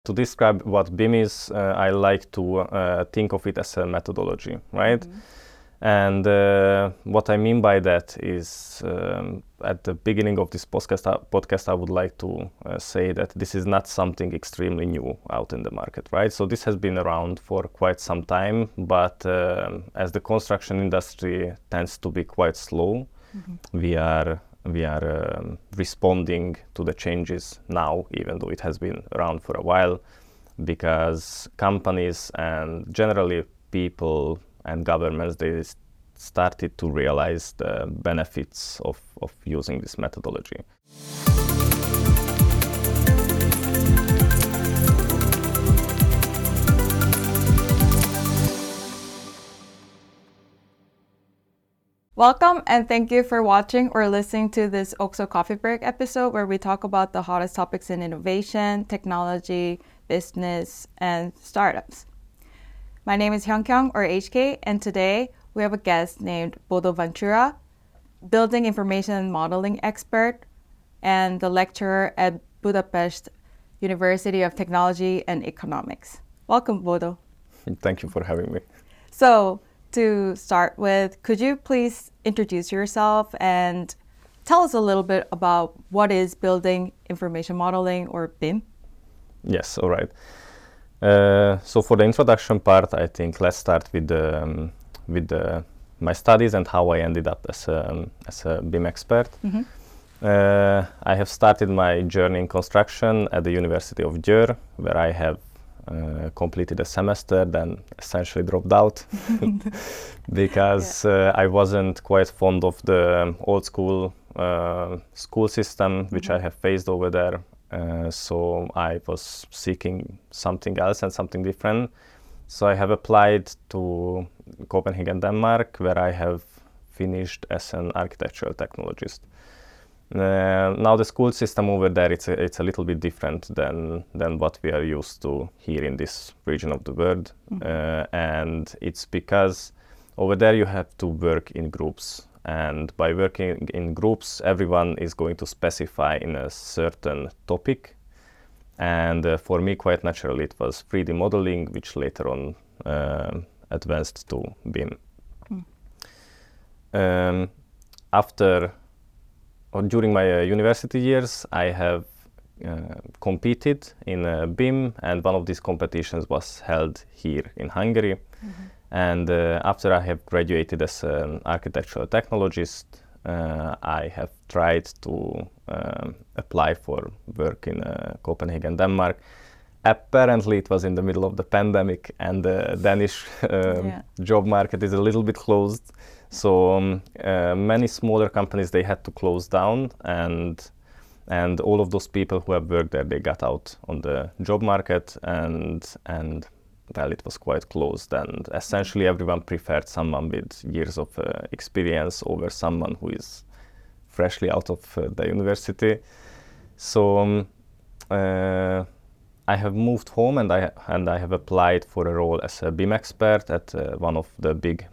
To describe what BIM is, I like to think of it as a methodology, right? Mm-hmm. And what I mean by that is, at the beginning of this podcast, I would like to say that this is not something extremely new out in the market, right? So this has been around for quite some time, but as the construction industry tends to be quite slow, mm-hmm. we are responding to the changes now, even though it has been around for a while, because companies and generally people and governments, they started to realize the benefits of using this methodology. Welcome and thank you for watching or listening to this OXO Coffee Break episode where we talk about the hottest topics in innovation, technology, business, and startups. My name is Hyungkyung or HK, and today we have a guest named Bodo Ventura, building information and modeling expert and the lecturer at Budapest University of Technology and Economics. Welcome, Bodo. Thank you for having me. So, to start with, could you please introduce yourself and tell us a little bit about what is building information modeling or BIM? Yes, all right. So for the introduction part, I think let's start with my studies and how I ended up as a BIM expert. Mm-hmm. I have started my journey in construction at the University of Győr, where I have completed a semester, then essentially dropped out because I wasn't quite fond of the old school school system, which I have faced over there. So I was seeking something else and something different. So I have applied to Copenhagen, Denmark, where I have finished as an architectural technologist. Now the school system over there, it's a little bit different than what we are used to here in this region of the world. Mm-hmm. And it's because over there you have to work in groups. And by working in groups, everyone is going to specify in a certain topic. And for me, quite naturally, it was 3D modeling, which later on advanced to BIM. Mm. During my university years, I have competed in BIM, and one of these competitions was held here in Hungary. Mm-hmm. And after I have graduated as an architectural technologist, I have tried to apply for work in Copenhagen, Denmark. Apparently, it was in the middle of the pandemic, and the Danish job market is a little bit closed. So many smaller companies, they had to close down, and all of those people who have worked there, they got out on the job market, and well, it was quite closed, and essentially everyone preferred someone with years of experience over someone who is freshly out of the university. So I have moved home, and I have applied for a role as a BIM expert at one of the big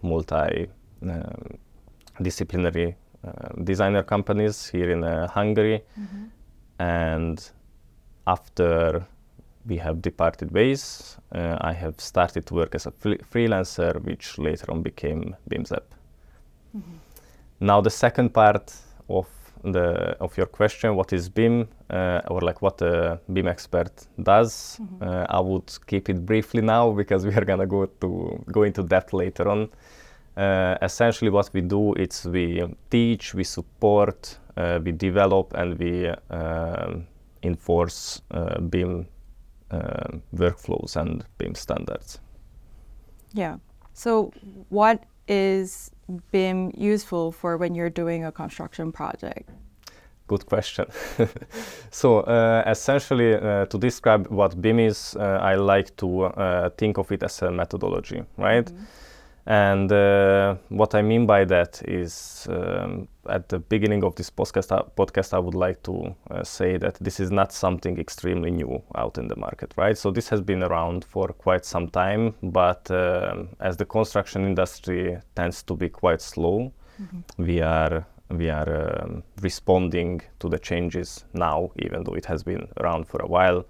multi-disciplinary designer companies here in Hungary. Mm-hmm. And after we have departed ways, I have started to work as a freelancer, which later on became BIMZEP. Mm-hmm. Now the second part of your question, what is BIM, or like what a BIM expert does, mm-hmm. I would keep it briefly now because we are gonna go into depth later on. Essentially what we do is we teach, we support, we develop, and we enforce BIM workflows and BIM standards. Yeah. So what is BIM useful for when you're doing a construction project? Good question. So essentially, to describe what BIM is, I like to think of it as a methodology, right? Mm-hmm. And what I mean by that is, at the beginning of this podcast, I would like to say that this is not something extremely new out in the market, right? So this has been around for quite some time, but as the construction industry tends to be quite slow, mm-hmm. we are responding to the changes now, even though it has been around for a while,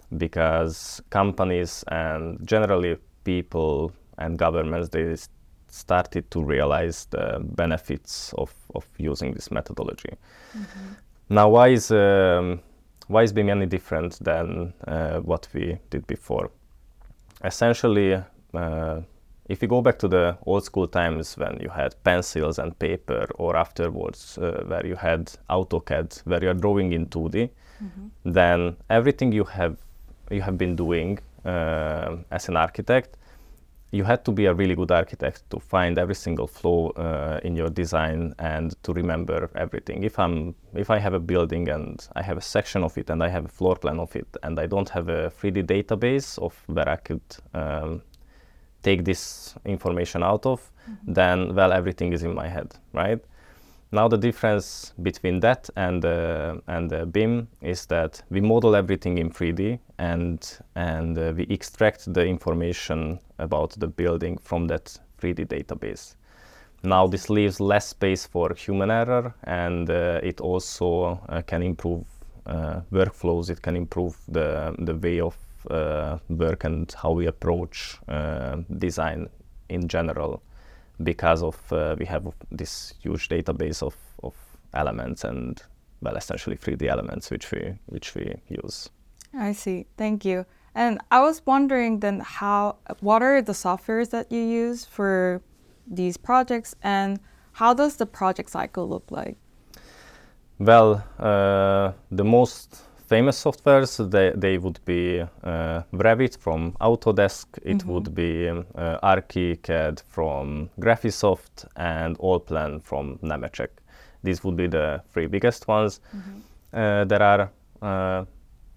because companies and generally people and governments, they started to realize the benefits of using this methodology. Now, why is BIM any different than what we did before? Essentially, if you go back to the old school times when you had pencils and paper, or afterwards where you had AutoCAD, where you are drawing in 2D, then everything you have been doing as an architect, you had to be a really good architect to find every single flaw in your design and to remember everything. If I have a building and I have a section of it and I have a floor plan of it and I don't have a 3D database of where I could take this information out of, then, well, everything is in my head, right? Now the difference between that and BIM is that we model everything in 3D and we extract the information about the building from that 3D database. Now this leaves less space for human error, and it also can improve workflows. It can improve the way of work and how we approach design in general, because of we have this huge database of elements and, well, essentially 3D elements which we use. I see. Thank you. And I was wondering then, what are the softwares that you use for these projects, and how does the project cycle look like? Well, the most famous softwares, they would be Revit from Autodesk, it would be ArchiCAD from Graphisoft, and Allplan from Nemetschek. These would be the three biggest ones. There are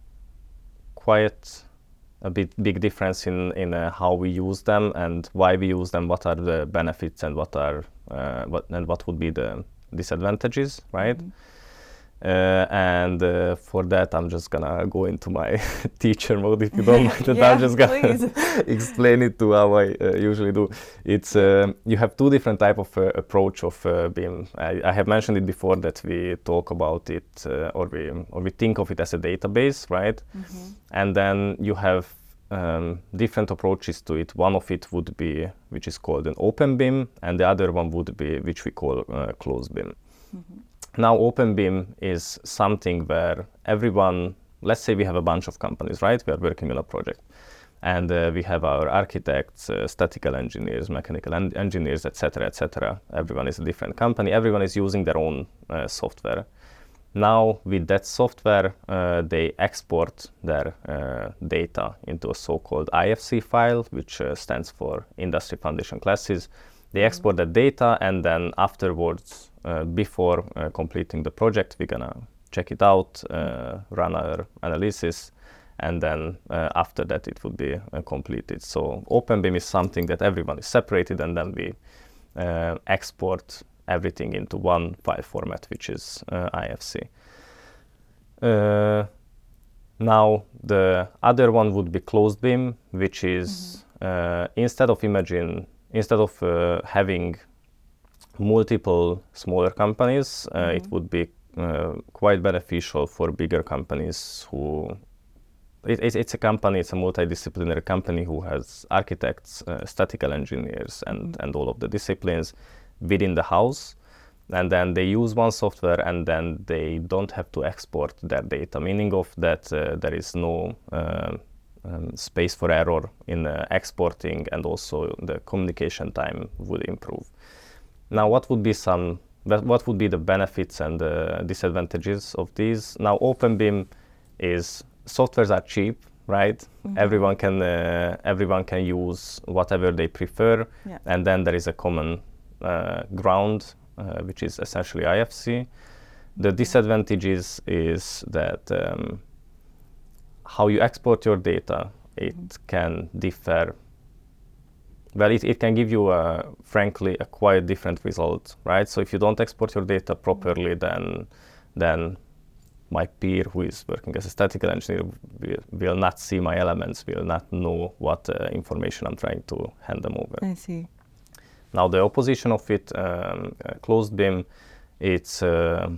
quite a big difference in how we use them and why we use them, what are the benefits and what would be the disadvantages, right? And for that, I'm just gonna go into my teacher mode, if you don't mind. Yeah, I'm just gonna explain it to how I usually do. It's you have two different type of approach of BIM. I have mentioned it before that we talk about it or we think of it as a database, right? And then you have different approaches to it. One of it would be which is called an open BIM, and the other one would be which we call closed BIM. Now, open BIM is something where everyone, let's say we have a bunch of companies, right? We are working on a project, and we have our architects, statistical engineers, mechanical engineers, etc., etc. Everyone is a different company. Everyone is using their own software. Now, with that software, they export their data into a so-called IFC file, which stands for Industry Foundation Classes. They export that data, and then afterwards, before completing the project, we're gonna check it out, run our analysis, and then after that it would be completed. So OpenBIM is something that everyone is separated, and then we export everything into one file format, which is IFC. Now the other one would be closed BIM, which is instead of having multiple smaller companies, it would be quite beneficial for bigger companies who it's a multidisciplinary company who has architects, statistical engineers, and all of the disciplines within the house, and then they use one software, and then they don't have to export their data, meaning of that there is no space for error in exporting, and also the communication time would improve. Now, what would be the benefits and the disadvantages of these? Now, OpenBIM is softwares are cheap, right? Everyone can use whatever they prefer, and then there is a common ground, which is essentially IFC. The disadvantages is that how you export your data, it can differ. Well, it can give you, frankly, a quite different result, right? So if you don't export your data properly, then my peer who is working as a statistical engineer will not see my elements, will not know what information I'm trying to hand them over. I see. Now, the opposition of it, closed BIM, it's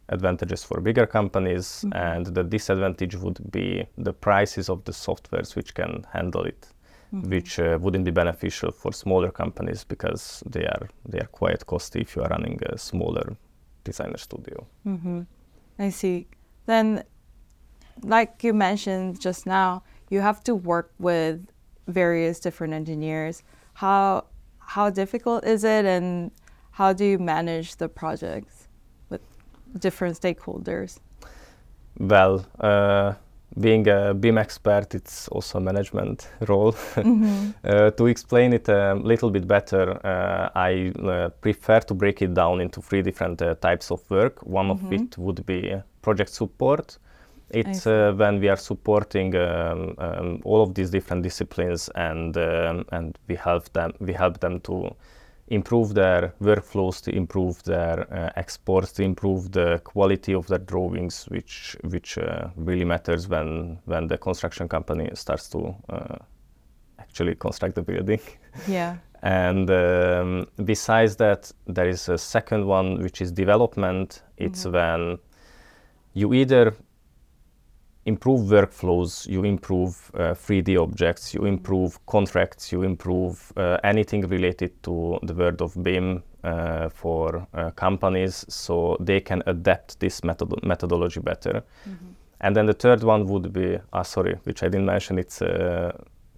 advantages for bigger companies, and the disadvantage would be the prices of the softwares which can handle it, which wouldn't be beneficial for smaller companies because they are quite costly if you are running a smaller designer studio. I see. Then, like you mentioned just now, you have to work with various different engineers. How difficult is it, and how do you manage the projects with different stakeholders? Well, being a BIM expert, it's also a management role. To explain it a little bit better, I prefer to break it down into 3 different types of work. One of it would be project support. It's when we are supporting all of these different disciplines, and we help them to improve their workflows, to improve their exports, to improve the quality of their drawings, which really matters when the construction company starts to actually construct the building. Yeah. And besides that, there is a second one, which is development. It's when you either improve workflows, you improve 3D objects, you improve contracts, you improve anything related to the world of BIM for companies, so they can adapt this methodology better. And then the third one would be, which I didn't mention, it's the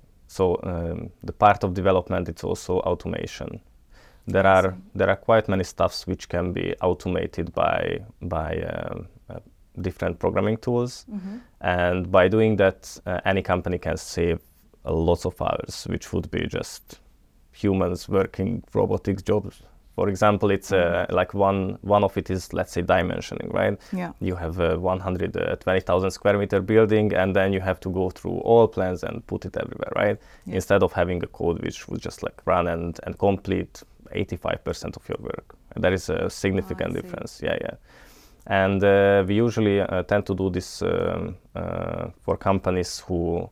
part of development, it's also automation. There are quite many stuffs which can be automated by different programming tools, and by doing that, any company can save lots of hours, which would be just humans working robotics jobs. For example, it's like one of it is, let's say, dimensioning, right? Yeah. You have a 120,000 square meter building, and then you have to go through all plans and put it everywhere, right? Yeah. Instead of having a code which would just like run and complete 85% of your work. There is a significant difference. Yeah. And we usually tend to do this for companies who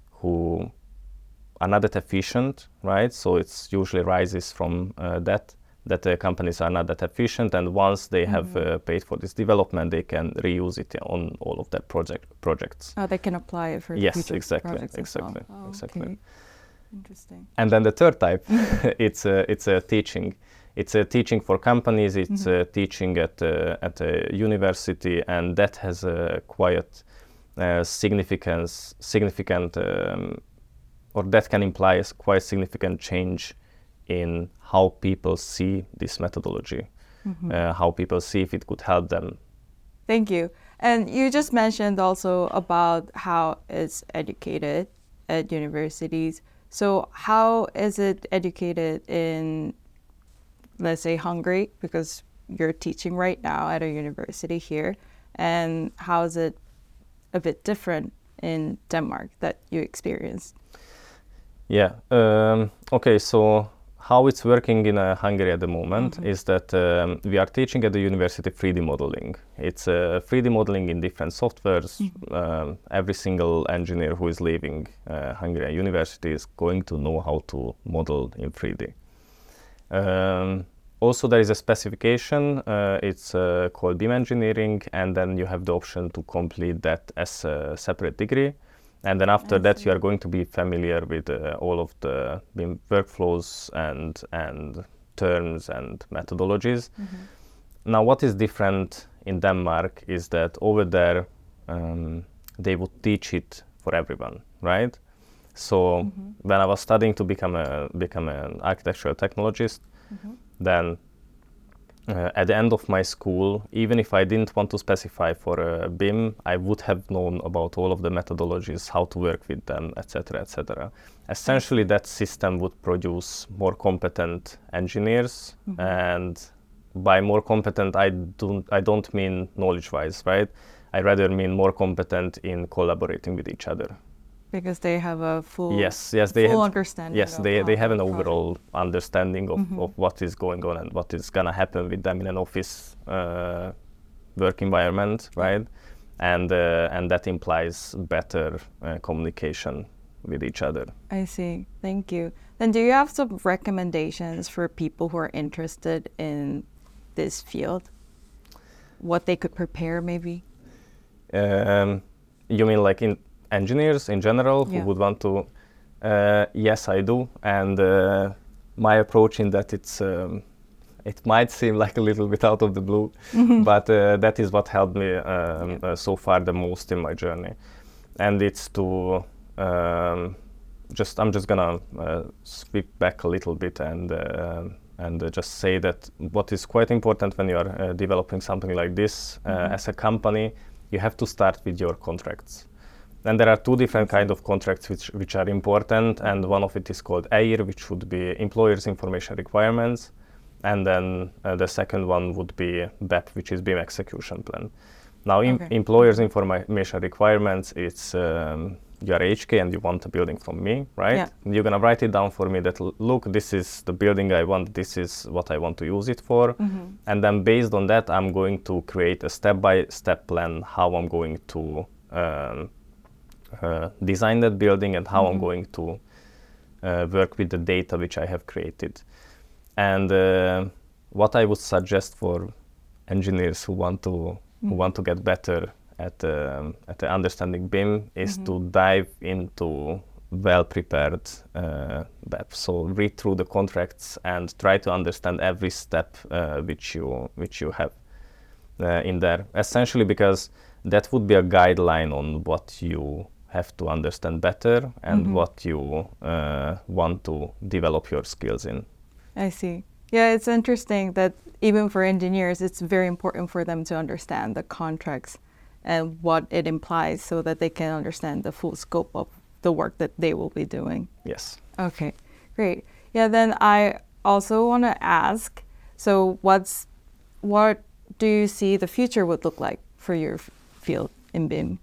are not that efficient, right? So it's usually rises from that companies are not that efficient, and once they have paid for this development, they can reuse it on all of their projects. Oh, they can apply it for future projects as well. Oh, exactly. Okay. Interesting. And then the third type, it's a teaching. It's a teaching for companies. It's a teaching at a university, and that has a quite significant, or that can imply a quite significant change in how people see this methodology, how people see if it could help them. Thank you. And you just mentioned also about how it's educated at universities. So how is it educated in, let's say, Hungary, because you're teaching right now at a university here, and how is it a bit different in Denmark that you experienced? Yeah. Okay, so how it's working in Hungary at the moment is that we are teaching at the university 3D modeling. It's 3D modeling in different softwares. Every single engineer who is leaving Hungary University is going to know how to model in 3D. Also, there is a specification. It's called BIM engineering, and then you have the option to complete that as a separate degree. And then after that, you are going to be familiar with all of the BIM workflows and terms and methodologies. Now, what is different in Denmark is that over there, they would teach it for everyone, right? So when I was studying to become an architectural technologist, then at the end of my school, even if I didn't want to specify for BIM, I would have known about all of the methodologies, how to work with them, etc., etc. Essentially, that system would produce more competent engineers, and by more competent, I don't mean knowledge-wise, right? I rather mean more competent in collaborating with each other. Because they have a full understanding. Yes, they have an overall understanding of what is going on and what is going to happen with them in an office work environment, right? And that implies better communication with each other. I see. Thank you. Then do you have some recommendations for people who are interested in this field? what they could prepare maybe? You mean like in engineers in general who would want to? Yes, I do. And my approach in that it might seem like a little bit out of the blue, but that is what helped me so far the most in my journey. And it's to I'm just gonna sweep back a little bit and just say that what is quite important when you are developing something like this as a company, you have to start with your contracts. And there are two different kinds of contracts which are important, and one of it is called EIR, which would be Employers Information Requirements, and then the second one would be BEP, which is BIM Execution Plan. Now, Employers Information Requirements, it's you are HK and you want a building from me, right? Yeah. You're gonna write it down for me that, look, this is the building I want, this is what I want to use it for. And then based on that, I'm going to create a step-by-step plan how I'm going to design that building and how I'm going to work with the data which I have created. And what I would suggest for engineers who want to get better at understanding BIM is to dive into well-prepared BEP. So read through the contracts and try to understand every step which you have in there. Essentially, because that would be a guideline on what you have to understand better and what you want to develop your skills in. I see. Yeah, it's interesting that even for engineers, it's very important for them to understand the contracts and what it implies so that they can understand the full scope of the work that they will be doing. Yes. Okay, great. Yeah, then I also want to ask, so what do you see the future would look like for your field in BIM?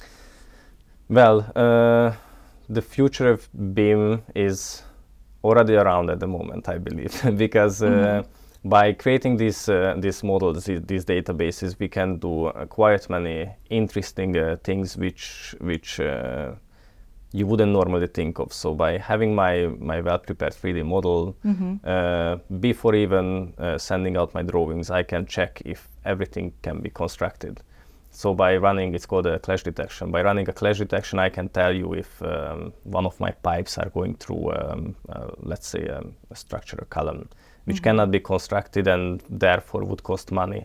Well, the future of BIM is already around at the moment, I believe, because by creating these models, these databases, we can do quite many interesting things which you wouldn't normally think of. So by having my well-prepared 3D model, before even sending out my drawings, I can check if everything can be constructed. So by running, it's called a clash detection. By running a clash detection, I can tell you if one of my pipes are going through, let's say, a structural column, which cannot be constructed and therefore would cost money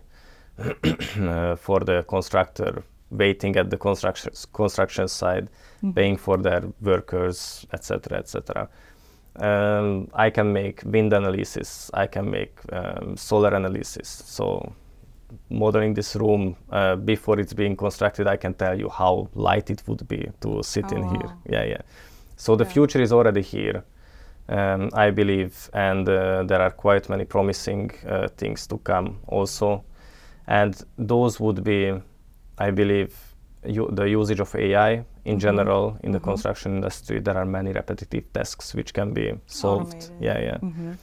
for the constructor, waiting at the construction site, paying for their workers, etc., etc. I can make wind analysis. I can make solar analysis. So modeling this room before it's being constructed, I can tell you how light it would be to sit in here. Yeah. So the future is already here, I believe, and there are quite many promising things to come also. And those would be, I believe, the usage of AI in general in the construction industry. There are many repetitive tasks which can be solved. Automated.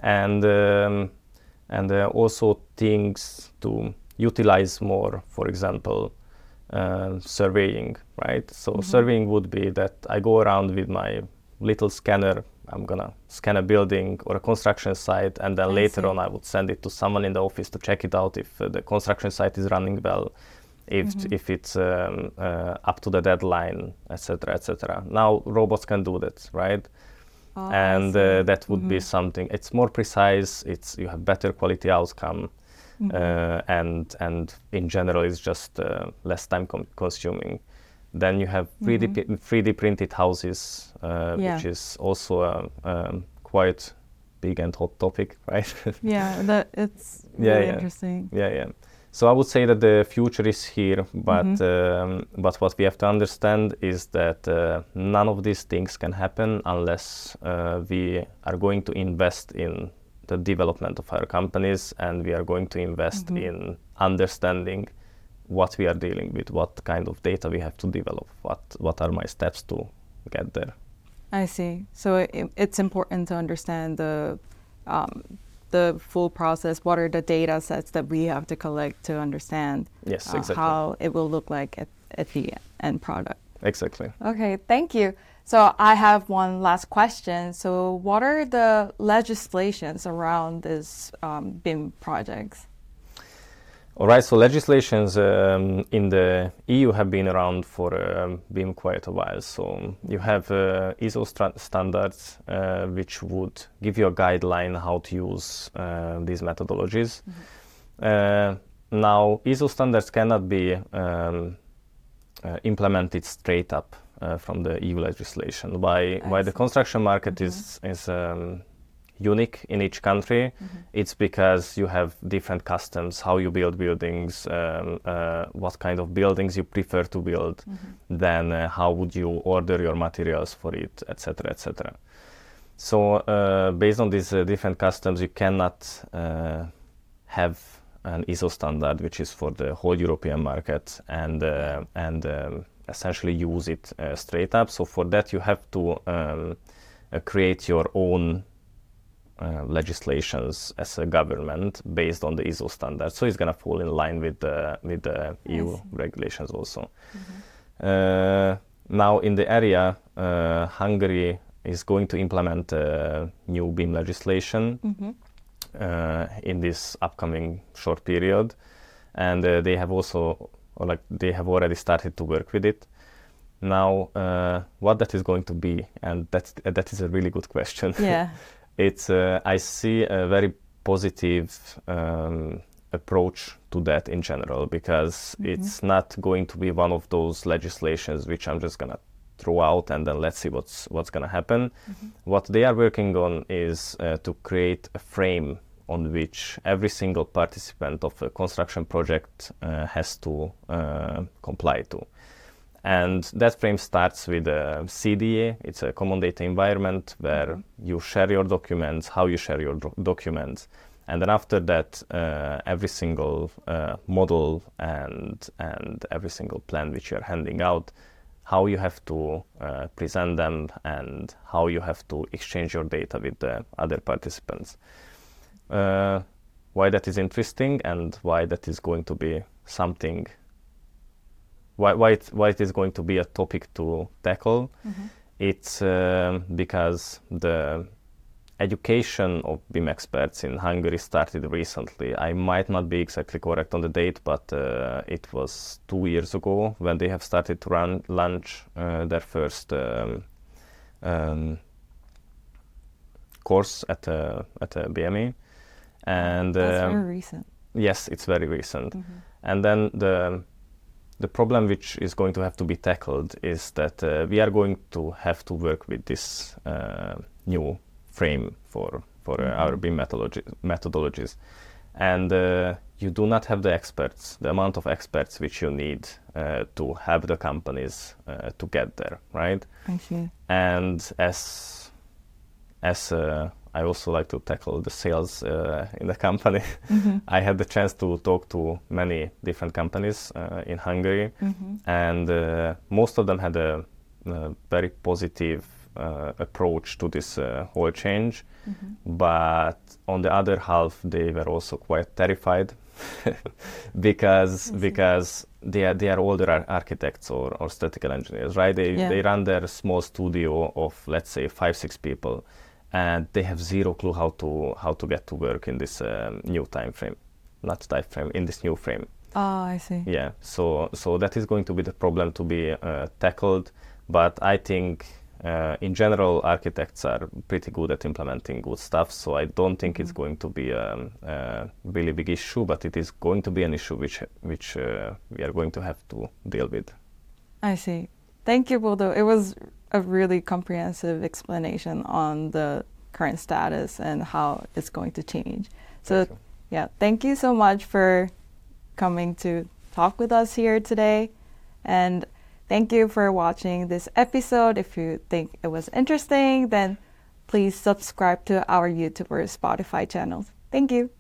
And also things to utilize more, for example, surveying, right? So surveying would be that I go around with my little scanner, I'm gonna scan a building or a construction site, and then later on I would send it to someone in the office to check it out if the construction site is running well, if it's up to the deadline, etc., etc. Now robots can do that, right? And that would be something. It's more precise. You have better quality outcome, and in general, it's just less time consuming. Then you have 3D printed houses, which is also a quite big and hot topic, right? It's really interesting. Yeah. So I would say that the future is here, but what we have to understand is that none of these things can happen unless we are going to invest in the development of our companies, and we are going to invest in understanding what we are dealing with, what kind of data we have to develop, what are my steps to get there. I see. So it's important to understand the full process. What are the data sets that we have to collect to understand how it will look like at the end product? Exactly. Okay, thank you. So I have one last question. So what are the legislations around this BIM projects? All right, so legislations in the EU have been around for BIM quite a while. So you have ISO standards, which would give you a guideline how to use these methodologies. Now, ISO standards cannot be implemented straight up from the EU legislation. Why the construction market is unique in each country, it's because you have different customs, how you build buildings, what kind of buildings you prefer to build, then how would you order your materials for it, etc., etc. So based on these different customs, you cannot have an ISO standard which is for the whole European market and essentially use it straight up. So for that you have to create your own legislations as a government based on the ISO standard. So it's going to fall in line with the EU regulations also. Now in the area, Hungary is going to implement new BIM legislation in this upcoming short period, and they have also, they have already started to work with it. Now, what that is going to be, and that is a really good question. Yeah. It's I see a very positive approach to that in general, because it's not going to be one of those legislations which I'm just gonna throw out and then let's see what's gonna happen. What they are working on is to create a frame on which every single participant of a construction project has to comply to. And that frame starts with a CDA. It's a common data environment where you share your documents, how you share your documents. And then after that, every single model and every single plan which you're handing out, how you have to present them and how you have to exchange your data with the other participants. Why that is interesting and why that is going to be something, why it is going to be a topic to tackle. It's because the education of BIM experts in Hungary started recently. I might not be exactly correct on the date, but it was 2 years ago when they have started to launch their first course at BME. And that's very recent. Yes, it's very recent. And then the problem which is going to have to be tackled is that we are going to have to work with this new frame for our BIM methodologies. And you do not have the experts, the amount of experts which you need to help the companies to get there, right? I see. And as I also like to tackle the sales in the company. I had the chance to talk to many different companies in Hungary, and most of them had a very positive approach to this whole change. But on the other half, they were also quite terrified because they are older architects or statistical engineers, right? They run their small studio of, let's say, 5-6 people. And they have zero clue how to get to work in this new time frame, in this new frame. Oh, I see. Yeah, so that is going to be the problem to be tackled. But I think in general, architects are pretty good at implementing good stuff. So I don't think it's going to be a really big issue, but it is going to be an issue which we are going to have to deal with. I see. Thank you, Bodo. It was a really comprehensive explanation on the current status and how it's going to change. So, thank you so much for coming to talk with us here today. And thank you for watching this episode. If you think it was interesting, then please subscribe to our YouTube or Spotify channels. Thank you.